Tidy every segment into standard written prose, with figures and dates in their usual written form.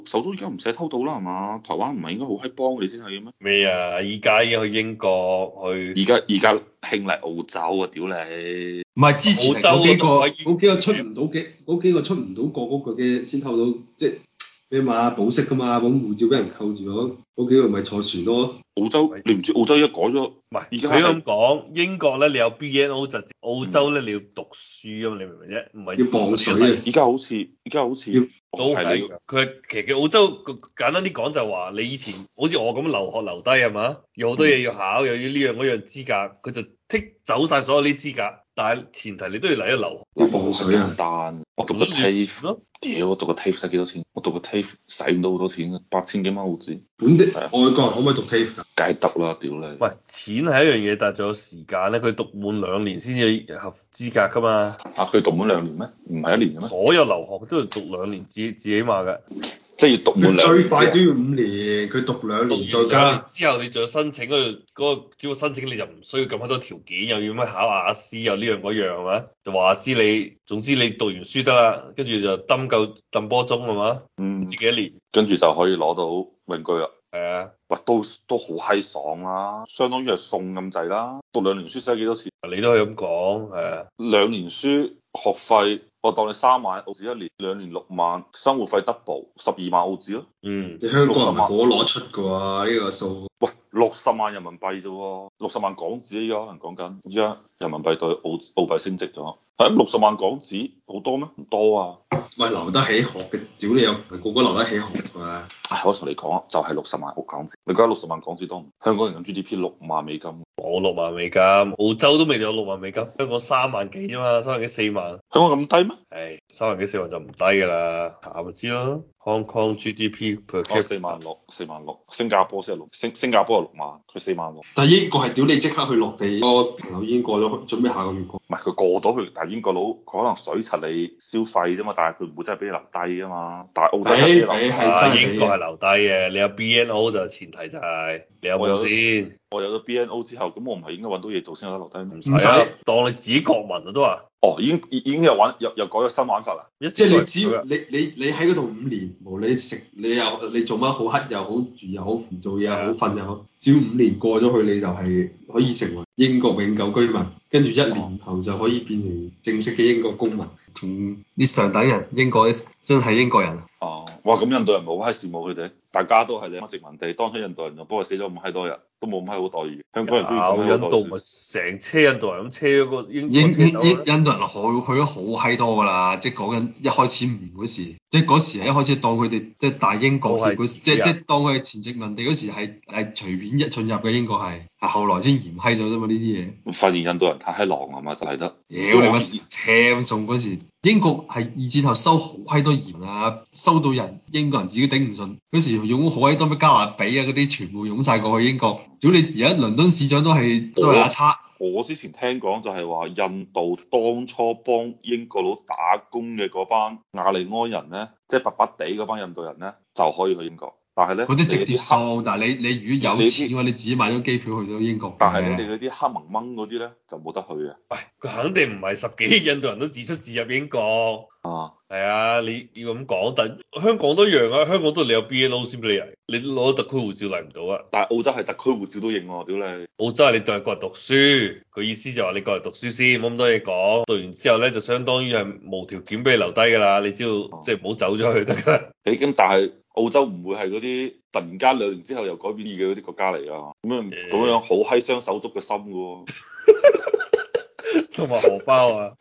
手足而家唔使偷渡啦係嘛？台灣唔係應該好閪幫你先係嘅咩？ 咩啊？依家已經去英國去而家興嚟澳洲啊！屌你！ 唔係之前係澳洲嗰幾個出唔到嘅嗰幾個出唔到國嗰個嘅先偷到，即係咩嘛保釋㗎嘛，咁護照俾人扣住咗，嗰幾個咪坐船咯。 澳洲你唔知澳洲而家改咗， 唔係而家佢咁講，英國咧你有 BNO 就澳洲咧你要讀書啊嘛，你明唔明啫？唔係要磅水啊！ 而家好似要都係你佢其實澳洲簡單啲講就係話，你以前好似我咁留學留低係嘛，有好多嘢要考，又要呢樣嗰樣資格，佢就剔走晒所有啲資格，但係前提你都要嚟度留學。 要磅水啊！ 簡單，我讀個咁要錢 TAFE， 咯， 屌我讀個 TAFE 使幾多錢？我讀個 TAFE 使唔到好多錢嘅，8000幾蚊澳紙。 本地係啊外國人可唔可以讀 TAFE 㗎？ 梗係得啦，屌你！ 喂，錢係一樣嘢，但係仲有時間咧，佢讀滿2年先至合資格㗎嘛。 佢讀滿2年咩？唔係1年嘅咩？ 所有留學都要讀2年至起碼㗎。 即係要讀滿佢 2年最快都之後要5年，佢讀2 讀年再完2年加。 之後，你再申請嗰個只要申請你就唔需要咁多條件，又要咩考雅思又呢樣嗰樣係嘛？就話知你，總之你讀完書得啦，跟住就揼夠揼波鐘係嘛？唔知幾多年。 跟住就可以攞到永居啦。 係啊， 喂，都好閪爽啦，相當於係送咁滯啦。讀2年書使幾多錢？ 你都可以咁講係啊。 2年書學費，我當你3萬澳紙一年，2年6萬，生活費 double 12萬澳紙咯。 嗯， 你香港人 60萬唔係個個攞出㗎喎，呢個數。 喂，60萬人民幣啫喎，60萬港紙依家可能講緊，依家人民幣對澳幣升值咗，係咁60萬港紙好多咩？唔多啊。 喂，留得起學嘅，屌你又唔係個個留得起學㗎。 唉，我同你講，就係60萬澳港紙，你覺得60萬港紙多唔？香港人嘅 GDP 6萬美金。 冇6萬美金，澳洲都未有6萬美金，香港3萬幾啫嘛，3萬幾4萬。 香港咁低咩？ 唉，3萬幾4萬就唔低㗎啦，下咪知咯。Hong Kong GDP per 哦， capita 4萬6，4萬6，新加坡先係新加坡係6萬，佢4萬6。 但係英國係屌你即刻去落地，個朋友已經過咗，準備下個月過。 唔係佢過到去，但係英國佬佢可能水柒你消費啫嘛，但係佢唔會真係俾你留低啊嘛。但係澳洲係俾你留低。 係真係英國係留低嘅，你有 BNO 就前提就係你有冇先。 我有咗 BNO 之後，咁我唔係應該揾到嘢做先有得留低咩？ 唔使啊，當你自己國民啊都話。 哦，已經有又改咗新玩法啦。 即係你只要你喺嗰度5年，無論你食你做乜好黑又好住又好唔做嘢又好瞓又好，只要5年過咗去，你就係可以成為英國永久居民，跟住1年後就可以變成正式嘅英國公民。同啲上等人，英國真係英國人。 哦，哇！咁印度人冇閪羨慕佢哋，大家都係你殖民地，當初印度人就不過死咗咁閪多人，都冇咁閪好待遇。香港人居然咁閪好待遇。 印度咪成車印度人咁車咗個英國印度人去咗好閪多㗎啦，即係講緊一開始5年嗰時，即係嗰時係一開始當佢哋即係大英國協嗰時，即係當佢係前殖民地嗰時係隨便一進入嘅英國係後來先嚴閪咗啫嘛呢啲嘢。 發現印度人太閪狼啊嘛，就係得。 屌你乜車咁送嗰時，英國係2戰後收好閪多鹽啊，收到英國人自己頂唔順，嗰時用好閪多咩加勒比啊嗰啲全部湧晒過去英國。屌你而家倫敦市長都係阿叉。 我之前聽講就係話，印度當初幫英國佬打工嘅嗰班亞利安人咧，即係白白地嗰班印度人咧，就可以去英國。但係咧， 嗰啲直接收，但係你如果有錢嘅話，你自己買咗機票去到英國。 但係咧，你嗰啲黑蒙蒙嗰啲咧就冇得去嘅。 喂，佢肯定唔係10幾億印度人都自出自入英國。 啊， 係啊，你要咁講，但香港都一樣啊，香港都你有 BNO 先俾你嚟，你攞特區護照嚟唔到啊。 但係澳洲係特區護照都認喎，屌你！ 澳洲係你就係過嚟讀書，佢意思就話你過嚟讀書先，冇咁多嘢講。讀完之後咧，就相當於係無條件俾你留低㗎啦，你只要即係唔好走咗去得㗎啦。 咁但係澳洲唔會係嗰啲突然間2年之後又改變嘅嗰啲國家嚟㗎，咁樣好閪傷手足嘅心㗎喎， 同埋荷包啊！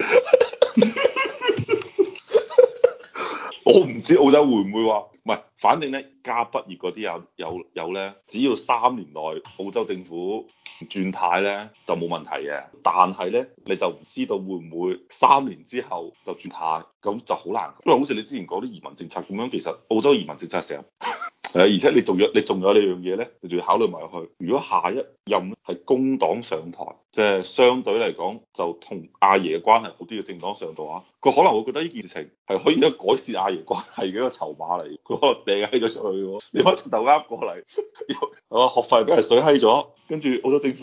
我唔知澳洲會唔會話，唔係，反正咧加畢業嗰啲有咧，只要3年內澳洲政府轉態咧就冇問題嘅，但係咧你就唔知道會唔會3年之後就轉態，咁就好難，因為好似你之前講啲移民政策咁樣，其實澳洲移民政策成日係啊，而且你仲有呢樣嘢咧，你仲要考慮埋去，如果下一任係工黨上台，即係相對嚟講就同阿爺嘅關係好啲嘅政黨上台嘅話，佢可能會覺得呢件事情係可以一個改善阿爺關係嘅一個籌碼嚟，佢可能掟閪咗出去喎，你可以直頭啱過嚟，學費俾人水閪咗，跟住澳洲政府突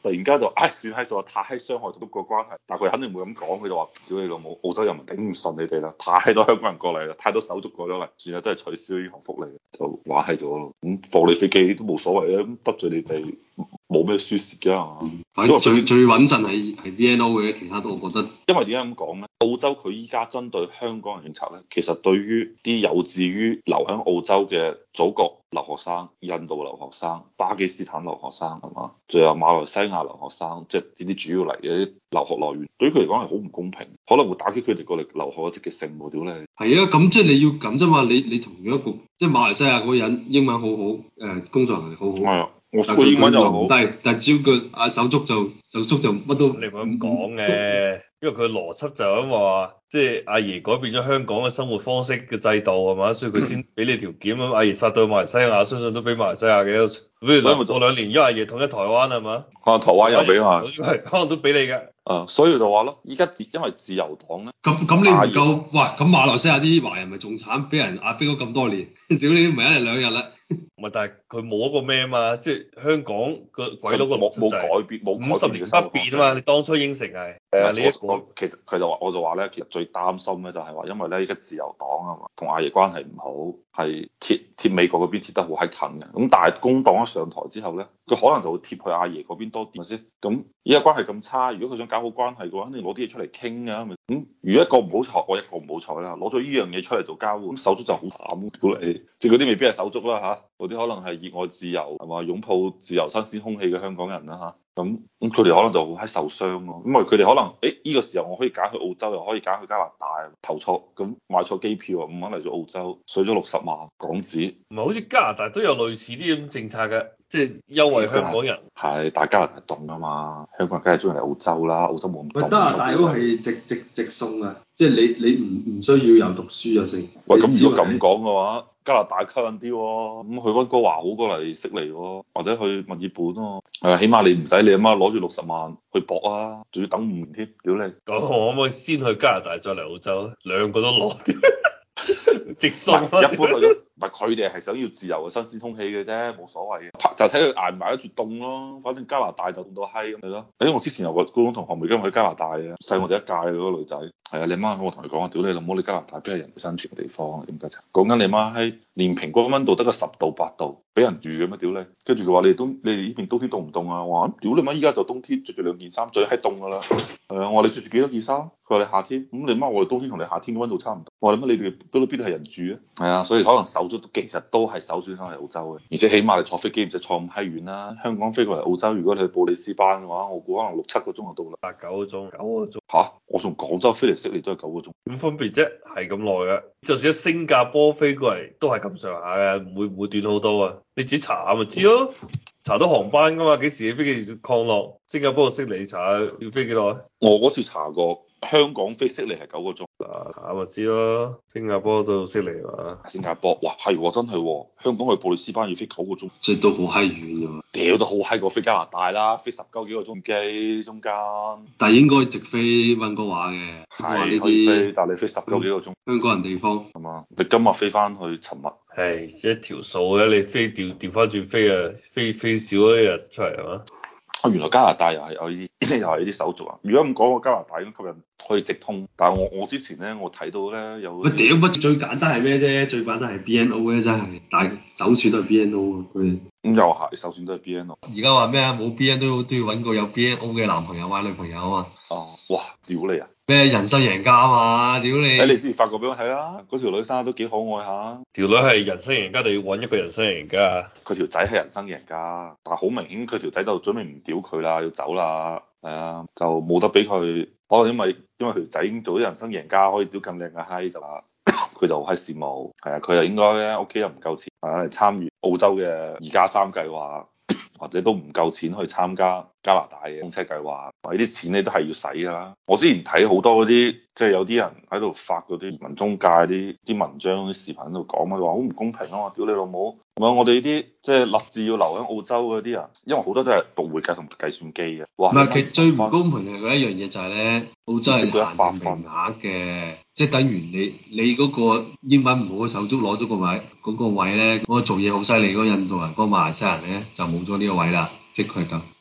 突然間就算係數太傷害中國關係，但係佢肯定唔會咁講，佢就話：屌你老母，澳洲人民頂唔順你哋啦，太多香港人過嚟啦，太多手足過咗嚟，算啦，都係取消呢項福利，就話係咗咯。咁放你飛機都冇所謂啊，得罪你哋冇咩輸蝕㗎係嘛？ 反正最穩陣係 BNO 嘅，其他都我覺得。 因為點解咁講咧？澳洲佢依家針對香港人政策咧，其實對於啲有志於留喺澳洲嘅祖國留學生、印度留學生、巴基斯坦留學生係嘛，仲有馬來西亞留學生，即係呢啲主要嚟嘅啲留學來源，對於佢嚟講係好唔公平，可能會打擊佢哋過嚟留學嘅積極性喎。屌你！ 係啊，咁即係你要咁啫嘛，你同樣一個即係馬來西亞嗰個人英文好好，工作能力好好。 係啊。我個英文又好， 但係只要佢阿手足就乜都你唔好咁講嘅，因為佢邏輯就係咁話，即係阿爺改變咗香港嘅生活方式嘅制度係嘛，所以佢先俾你條件咁。阿爺殺到馬來西亞，相信都俾馬來西亞嘅。比如講過兩年，因為阿爺統一台灣係嘛， 台灣又俾嘛， 可能都俾你嘅。 所以就話咯，依家因為自由黨咧， 咁你唔夠，哇！咁馬來西亞啲華人咪仲慘，俾人壓迫咗咁多年，屌你唔係一日兩日啦。 唔係，但係佢冇一個咩啊嘛，即係香港個鬼佬個冇改變，冇 50年不變啊嘛。你當初應承係你一個， 其實佢就話我就話咧，其實最擔心咧就係話，因為咧依家自由黨啊嘛，同阿爺關係唔好，係貼美國嗰邊貼得好閪近嘅。咁但係工黨一上台之後咧，佢可能就會貼去阿爺嗰邊多啲，咪先？咁依家關係咁差，如果佢想搞好關係嘅話，肯定攞啲嘢出嚟傾㗎，咪咁？如果一個唔好彩，我一個唔好彩啦，攞咗呢樣嘢出嚟做交換，咁手足就好慘，屌你！即係嗰啲未必係手足啦嚇，嗰啲可能係熱愛自由係嘛，擁抱自由新鮮空氣嘅香港人啦嚇。咁佢哋可能就好閪受傷咯，因為佢哋可能呢個時候我可以揀去澳洲，又可以揀去加拿大，投錯咁買錯機票啊，唔肯嚟咗澳洲，水咗60萬港紙。 唔係好似加拿大都有類似啲咁政策嘅，即係優惠香港人。 係，但係加拿大凍啊嘛，香港人梗係中意嚟澳洲啦，澳洲冇咁凍。 加拿大嗰個係直送啊，即係你唔需要有讀書就成。 喂，咁如果咁講嘅話，加拿大吸引啲喎，咁去溫哥華好過嚟悉尼喎，或者去墨爾本喎。起碼你唔使你阿媽攞住60萬去搏啊，仲要等5年添，屌你！ 我可唔可以先去加拿大再嚟澳洲？兩個都攞，直送。 一般去咗，唔係佢哋係想要自由嘅新鮮空氣嘅啫，冇所謂嘅，就睇佢捱唔捱得住凍咯。反正加拿大就凍到閪咁咪咯。我之前有個高中同學咪今日去加拿大嘅，細我哋一屆嗰個女仔。係啊，你媽我同佢講話，屌你老母，你加拿大邊係人生存嘅地方啊？點解？講緊你媽閪，連平均溫度得個10度8度，俾人住嘅咩？屌你！跟住佢話你哋呢邊冬天凍唔凍啊？我話屌你媽，依家就冬天，着住2件衫最閪凍㗎啦。我話你着住幾多件衫？佢話你夏天。咁你媽我哋冬天同你夏天嘅溫度差唔多。我話你媽你哋嗰度邊度係人住啊？係啊，所以可能手足其實都係首選翻嚟澳洲嘅，而且起碼你坐飛機唔使坐咁閪遠啦。香港飛過嚟澳洲，如果你去布里斯班嘅話，我估可能6、7個鐘就到啦。 8、9個鐘，9個鐘。 嚇！我從廣州飛嚟悉尼都係9個鐘。 點分別啫？係咁耐嘅，就算喺新加坡飛過嚟都係咁上下嘅，唔會短好多啊！你自己查下咪知咯，查到航班噶嘛？幾時嘅飛機降落？新加坡到悉尼查下要飛幾耐？ 我嗰次查過，香港飛悉尼係9個鐘。 查咪知咯，新加坡到悉尼嘛？ 新加坡，哇係喎，真係喎，香港去布里斯班要飛9個鐘， 即係都好閪遠㗎嘛。 屌都好閪過飛加拿大啦，飛10幾個鐘機中間。 但係應該直飛溫哥華嘅， 係可以飛，但係你飛10幾個鐘。 香港人地方係嘛？你今日飛翻去尋日， 係一條數咧，你飛調翻轉飛啊，飛少一日出嚟係嘛？ 原來加拿大又係有呢啲，又係呢啲手續啊！如果咁講，我加拿大咁吸引可以直通，但係我之前咧，我睇到咧有喂屌乜最簡單係咩啫？最簡單係 BNO 咧，真係，但係首選都係 BNO 啊佢。 咁又係，首選都係 BNO。 而家話咩啊？冇 BNO 都要揾個有 BNO 嘅男朋友或者女朋友啊嘛。 哦，哇！屌你啊！ 咩人生贏家啊嘛？屌你！ 你之前發過俾我睇啦，嗰條女生都幾可愛下。 條女係人生贏家定要揾一個人生贏家？ 佢條仔係人生贏家，但係好明顯佢條仔就準備唔屌佢啦，要走啦。係啊，就冇得俾佢。可能因為條仔已經做咗人生贏家，可以屌咁靚嘅閪就話，佢就好閪羨慕。係啊，佢又應該咧屋企又唔夠錢，嚟參與澳洲嘅2+3計劃。或者都唔夠錢去參加加拿大嘅通車計劃，呢啲錢你都係要使㗎啦。我之前睇好多嗰啲，即係有啲人喺度發嗰啲移民中介啲文章、啲視頻喺度講啊，話好唔公平啊嘛！屌你老母！唔係我哋呢啲即係立志要留喺澳洲嗰啲人，因為好多都係讀會計同計算機嘅。哇！ 唔係，其實最唔公平嘅一樣嘢就係咧，澳洲係限定名額嘅，即係等於你嗰個英文唔好嘅手足攞咗個位，嗰個位咧，嗰個做嘢好犀利嗰個印度人、嗰個馬來西亞人咧就冇咗呢個位啦，即係佢係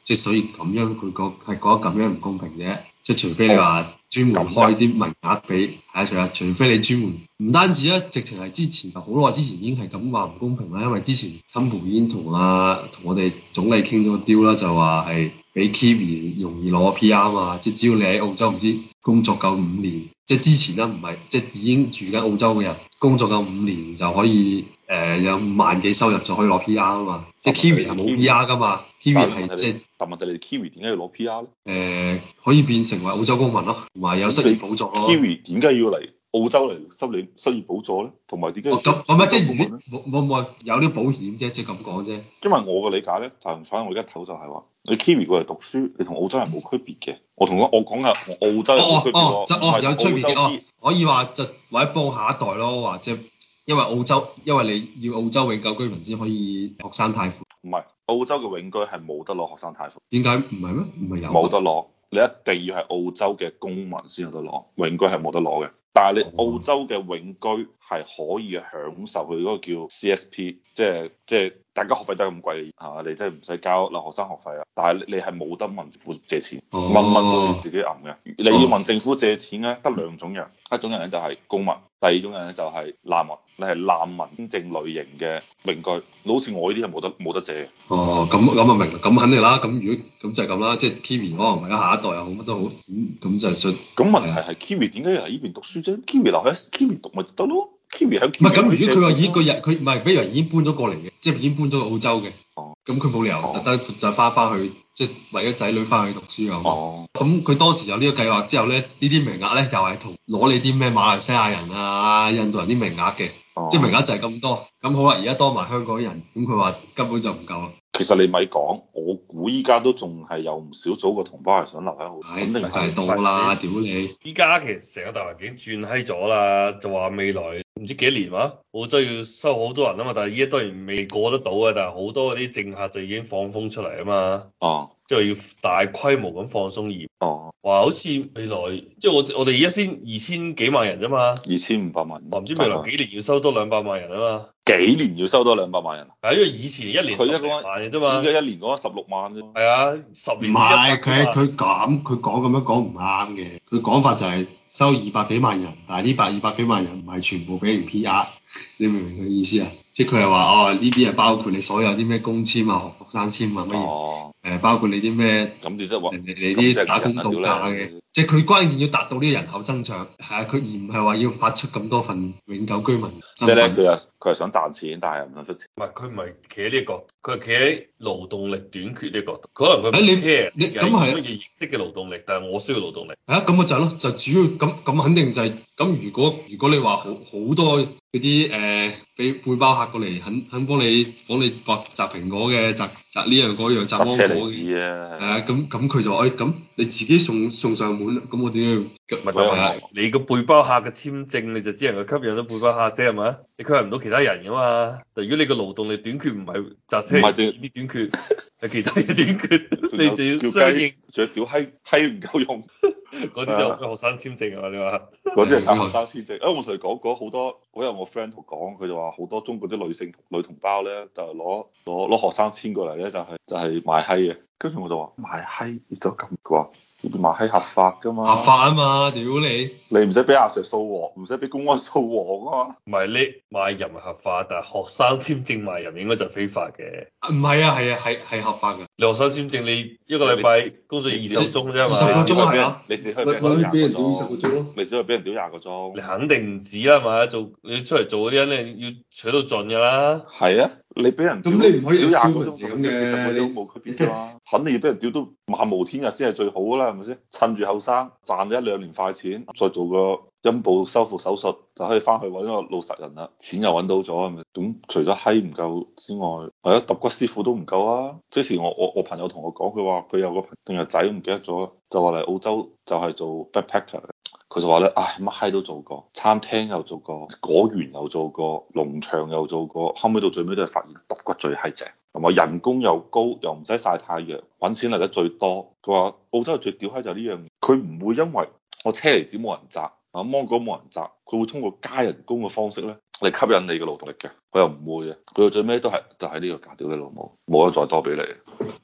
即係所以咁樣佢講係覺得咁樣唔公平啫。即係除非你話專門開啲名額俾，係啊，除非你專門唔單止啊，直情係之前好耐之前已經係咁話唔公平啦，因為之前川普已經同我哋總理傾咗個 deal 啦，就話係俾 Kiwi 容易攞 PR 嘛，即係只要你喺澳洲唔知工作夠5年，即係之前啦唔係即係已經住緊澳洲嘅人工作夠5年就可以有5萬幾收入就可以攞 PR 啊嘛，即係 Kiwi 係冇 PR 噶嘛，Kiwi 係即係。 但問題你 Kiwi 點解要攞 PR 咧？ 可以變成為澳洲公民咯，同埋有失業補助咯。 Kiwi 點解要嚟澳洲嚟失業補助咧？同埋點解要咁啊，即係冇有啲保險啫，即係咁講啫。 因為我嘅理解咧，反正我而家睇就係話，你 Kiwi 過嚟讀書，你同澳洲人冇區別嘅。我講嘅同澳洲人冇區別喎， 有區別嘅可以話就或者幫下一代咯，或者因為你要澳洲永久居民先可以學生貸款。 唔係澳洲嘅永居係冇得攞學生貸款。 點解唔係咩？唔係有？ 冇得攞，你一定要係澳洲嘅公民先有得攞，永居係冇得攞嘅。但係你澳洲嘅永居係可以享受佢嗰個叫 CSP，即係大家學費都係咁貴係嘛？你真係唔使交留學生學費啊。但係你係冇得問政府借錢，蚊都要自己揞嘅。你要問政府借錢咧，得兩種人，一種人咧就係公民，第二種人咧就係難民。你係難民簽證類型嘅永居，好似我呢啲係冇得借。 咁啊明，咁肯定啦。咁如果咁就係咁啦，即係 Kiwi 可能為咗下一代又好乜都好，咁就係信。 咁問題係 Kiwi 點解要嚟呢邊讀書啫？Kiwi 留喺 Kiwi 讀咪得咯？Kiwi 喺 Kiwi 唔係咁，如果佢話已經個人佢唔係，比如話已經搬咗過嚟嘅，即係已經搬咗去澳洲嘅。咁佢冇理由特登就翻去，即係為咗仔女翻去讀書啊嘛。咁佢當時有呢個計劃之後咧，呢啲名額咧又係同攞你啲咩馬來西亞人啊、印度人啲名額嘅，即係名額就係咁多。咁好啦，而家多埋香港人，咁佢話根本就唔夠啦。 其實你咪講，我估依家都仲係有唔少祖國同胞係想留喺澳洲，肯定係多啦，屌你！ 依家其實成個大環境轉閪咗啦，就話未來唔知幾年話澳洲要收好多人啊嘛，但係依家當然未過得到啊，但係好多嗰啲政客就已經放風出嚟啊嘛。 哦。 即係要大規模咁放鬆嚴。 哦。 話好似未來即係我哋而家先2000幾萬人啫嘛。 2500萬。 話唔知未來幾年要收多200萬人啊嘛。 幾年要收多200萬人？ 係因為以前一年10萬嘅啫嘛。 依家一年講16萬啫。 係啊，10年唔係佢講咁樣講唔啱嘅，佢講法就係收200幾萬人，但係呢200幾萬人唔係全部俾人 PR，你明唔明佢意思啊？即係佢係話呢啲係包括你所有啲咩工簽啊、學生簽啊乜嘢，包括你啲咩咁即係話你啲打工度假嘅，即係佢關鍵要達到呢個人口增長，係啊，佢而唔係話要發出咁多份永久居民身份。即係咧， 佢係想賺錢，但係又唔想出錢。 唔係佢唔係企喺呢個角度，佢係企喺勞動力短缺呢個角度。可能佢唔 care 你咁係乜嘢形式嘅勞動力，但係我需要勞動力。 咁咪就係咯，就主要咁肯定就係咁。如果你話好多嗰啲俾背包客過嚟，肯幫你摘蘋果嘅，摘呢樣嗰樣，摘芒果嘅，咁佢就話咁你自己送上門，咁我點要？ 唔係你個背包客嘅簽證，你就只能夠吸引到背包客啫，係咪？你吸引唔到其他人噶嘛？但如果你個勞動力短缺唔係摘車啲短缺，係其他嘢短缺，你就要相應。 仲有屌閪唔夠用， 嗰啲就學生簽證啊！你話嗰啲係靠學生簽證。我同你講過好多，我有我 friend 同講，佢就話好多中國啲女同胞咧，就係攞學生簽過嚟咧，就係賣閪嘅。跟住我就話賣閪，亦都咁啩。賣閪合法㗎嘛？ 合法啊嘛，屌你！ 你唔使俾阿 Sir 掃黃，唔使俾公安掃黃啊嘛。 唔係你賣淫係合法，但係學生簽證賣淫應該就非法嘅。 唔係啊，係合法㗎。 你學生簽證你一個禮拜工作20個鐘啫嘛 ？20個鐘係啊， 你只可以俾人屌20個鐘，你只可以俾人屌20個鐘。 你肯定唔止啦嘛，你出嚟做嗰啲人你要取到盡㗎啦。 係啊，你俾人咁你唔可以屌20個鐘咁嘅 ，40個鐘冇區別㗎嘛。肯定要俾人屌到漫無天日先係最好㗎啦，係咪先？趁住後生賺咗1-2年快錢，再做個陰部修復手術，就可以翻去揾個老實人啦。錢又揾到咗，係咪？咁除咗閪唔夠之外，係啊，揼骨師傅都唔夠啊！之前我朋友同我講，佢話佢有個定係仔唔記得咗，就話嚟澳洲就係做 backpacker。佢就話咧，唉，乜閪都做過，餐廳又做過，果園又做過，農場又做過，後尾到最尾都係發現揼骨最閪正，同埋人工又高，又唔使曬太陽，揾錢嚟得最多。佢話澳洲最屌閪就係呢樣嘢，佢唔會因為我車厘子冇人摘，芒果冇人摘，佢會通過加人工嘅方式咧嚟吸引你嘅勞動力嘅，佢又唔會嘅，佢到最尾都係就係呢個價，屌你老母，冇得再多俾你。